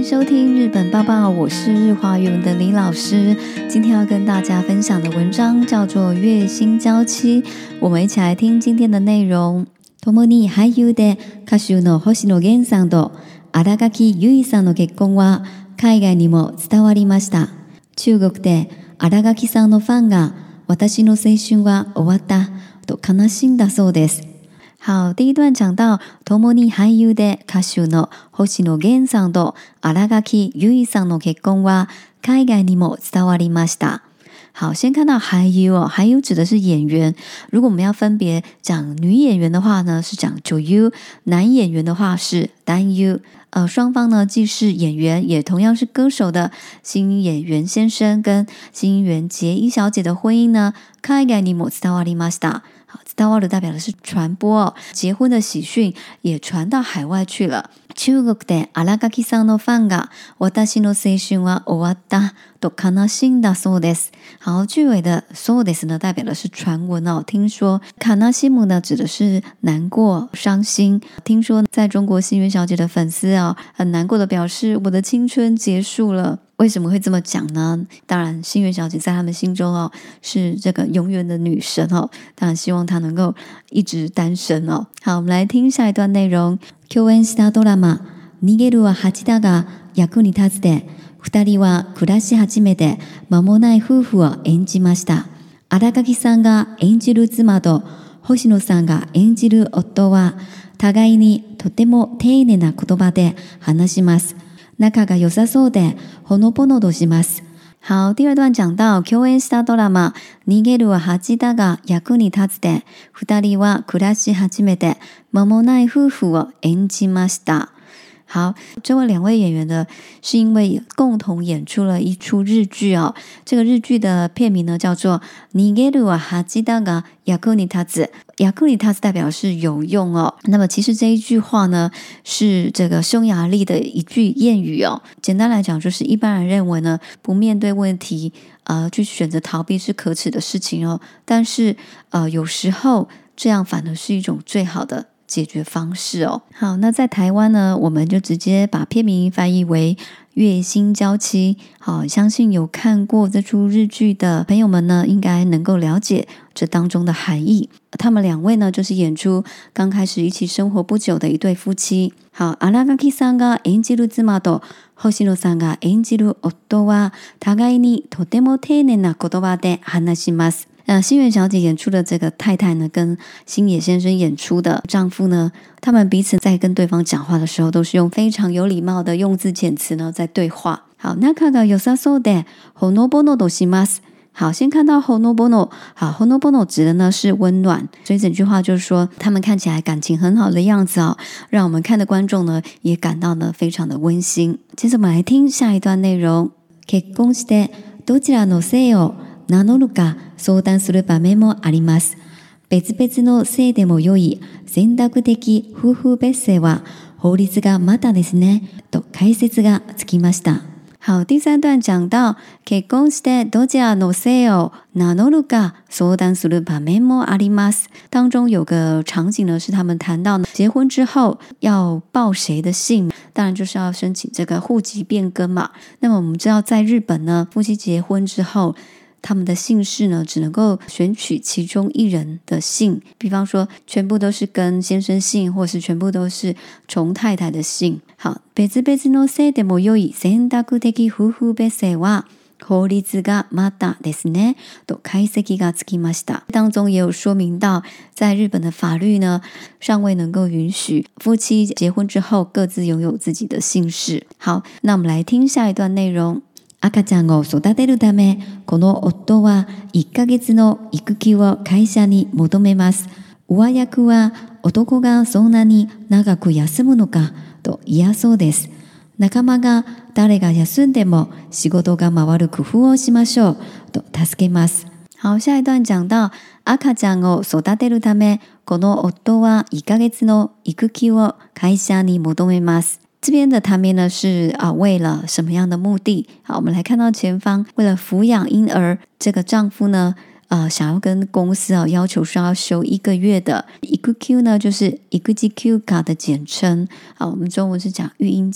收听日本报报，我是日华语文的李老师。今天要跟大家分享的文章叫做《月薪娇妻》，我们一起来听今天的内容。共に俳優で歌手の星野源さんと新垣結衣さんの結婚は海外にも伝わりました。中国で新垣さんのファンが私の青春は終わったと悲しんだそうです。好，第一段讲到共に俳優で歌手の星野源さんと新垣結衣さんの結婚は海外にも伝わりました。好，先看到俳優哦，俳優指的是演员。如果我们要分别讲女演员的话呢，是讲女優；男演员的话是男優。双方呢既是演员，也同样是歌手的新演员先生跟新垣结衣小姐的婚姻呢，海外にも伝わりました。伝わる代表的是传播哦，结婚的喜讯也传到海外去了。中国で新垣さんのファンが私の青春は終わったと悲しんだそうです。好，句尾的そうです呢，代表的是传闻哦。听说悲しむ呢，指的是难过、伤心。听说在中国新垣小姐的粉丝哦，很难过的表示我的青春结束了。为什么会这么讲呢？当然新垣小姐在他们心中哦，是这个永远的女神哦，当然希望她能够一直单身哦。好，我们来听下一段内容。共演したドラマ逃げるは恥だが役に立つで二人は暮らし始めて間もない夫婦を演じました。新垣さんが演じる妻と星野さんが演じる夫は互いにとても丁寧な言葉で話します。仲が良さそうでほのぼのとします。好，第二段讲到共演したドラマ逃げるは恥だが役に立つで二人は暮らし始めて間もない夫婦を演じました。好，这位两位演员呢，是因为共同演出了一出日剧哦。这个日剧的片名呢叫做《逃げるは恥だが役に立つ》。役に立つ代表是有用哦。那么其实这一句话呢，是这个匈牙利的一句谚语哦。简单来讲，就是一般人认为呢，不面对问题，去选择逃避是可耻的事情哦。但是有时候这样反而是一种最好的解决方式哦。好，那在台湾呢，我们就直接把片名翻译为月薪娇妻。好，相信有看过这出日剧的朋友们呢，应该能够了解这当中的含义。他们两位呢，就是演出刚开始一起生活不久的一对夫妻。好，新垣さんが演じる妻と星野さんが演じる夫は互いにとても丁寧な言葉で話します。新垣小姐演出的这个太太呢，跟星野先生演出的丈夫呢，他们彼此在跟对方讲话的时候，都是用非常有礼貌的用字遣词呢在对话。好，仲が良さそうでほのぼのとします。好，先看到ほのぼの。好，ほのぼの指的呢是温暖，所以整句話就是说他们看起来感情很好的样子哦，让我们看的观众呢也感到呢非常的温馨。接着我们来听下一段内容。結婚してどちらの姓を名乗るか相談する場面もあります。別々の姓でも良い選択的夫婦別姓は法律がまたですねと解説がつきました。好，第三段讲到結婚してどちらの姓を名乗るか相談する場面もあります。当中有个场景呢，是他们谈到结婚之后要报谁的姓，当然就是要申请这个户籍变更嘛。那么我们知道在日本呢，夫妻结婚之后，他们的姓氏呢，只能够选取其中一人的姓，比方说全部都是跟先生姓，或是全部都是从太太的姓。好，別々の姓でも良い選択的夫婦別姓は法律がまたですねと解析がつきました。当中也有说明到，在日本的法律呢，尚未能够允许夫妻结婚之后各自拥有自己的姓氏。好，那我们来听下一段内容。赤ちゃんを育てるため、この夫は1ヶ月の育休を会社に求めます。上役は男がそんなに長く休むのかと嫌そうです。仲間が誰が休んでも仕事が回る工夫をしましょうと助けます。好，下一段讲到赤ちゃんを育てるため、この夫は1ヶ月の育休を会社に求めます。这边的他们呢是为了什么样的目的？好，我们来看到前方，为了抚养婴儿，这个丈夫呢想要跟公司要求说要休1个月的育休呢，就是育児休暇的简称。好，我们中文是讲育婴假。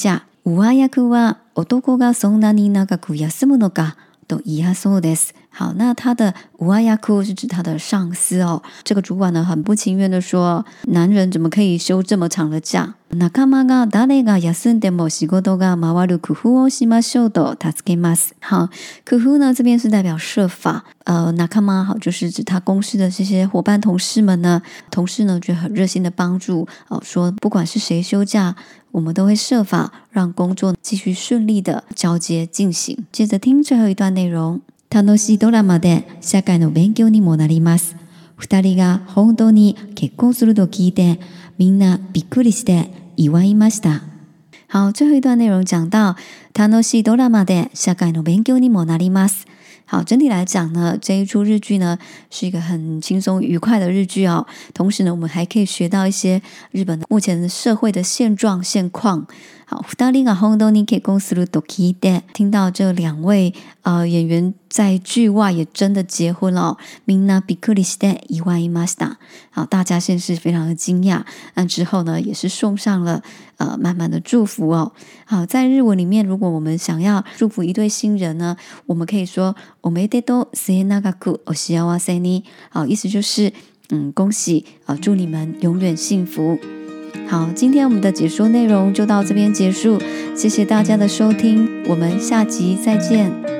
上役は男がそんなに長く休むのかと言いそうです。好，那他的上役是指他的上司哦。这个主管呢，很不情愿的说，男人怎么可以休这么长的假？仲間が誰が休んでも仕事が回る工夫をしましょうと助けます。好，工夫呢这边是代表设法，仲間好就是指他公司的这些伙伴同事们呢，同事呢就很热心的帮助说不管是谁休假，我们都会设法让工作继续顺利的交接进行。接着听最后一段内容。楽しいドラマで社会の勉強にもなります。二人が本当に結婚すると聞いて、みんなびっくりして祝いました。好，最后一段内容讲到楽しいドラマで社会の勉強にもなります。好，整体来讲呢，这一出日剧呢是一个很轻松愉快的日剧哦。同时呢，我们还可以学到一些日本目前的社会的现况。好，二人が本当に結婚すると聞いて，听到这两位演员在剧外也真的结婚了哦。みんなびっくりして祝いました。好，大家先是非常的惊讶，那之后呢，也是送上了满满的祝福哦。好，在日文里面，如果我们想要祝福一对新人呢，我们可以说おめでとう末永くお幸せに。好，意思就是恭喜祝你们永远幸福。好，今天我们的解说内容就到这边结束，谢谢大家的收听，我们下集再见。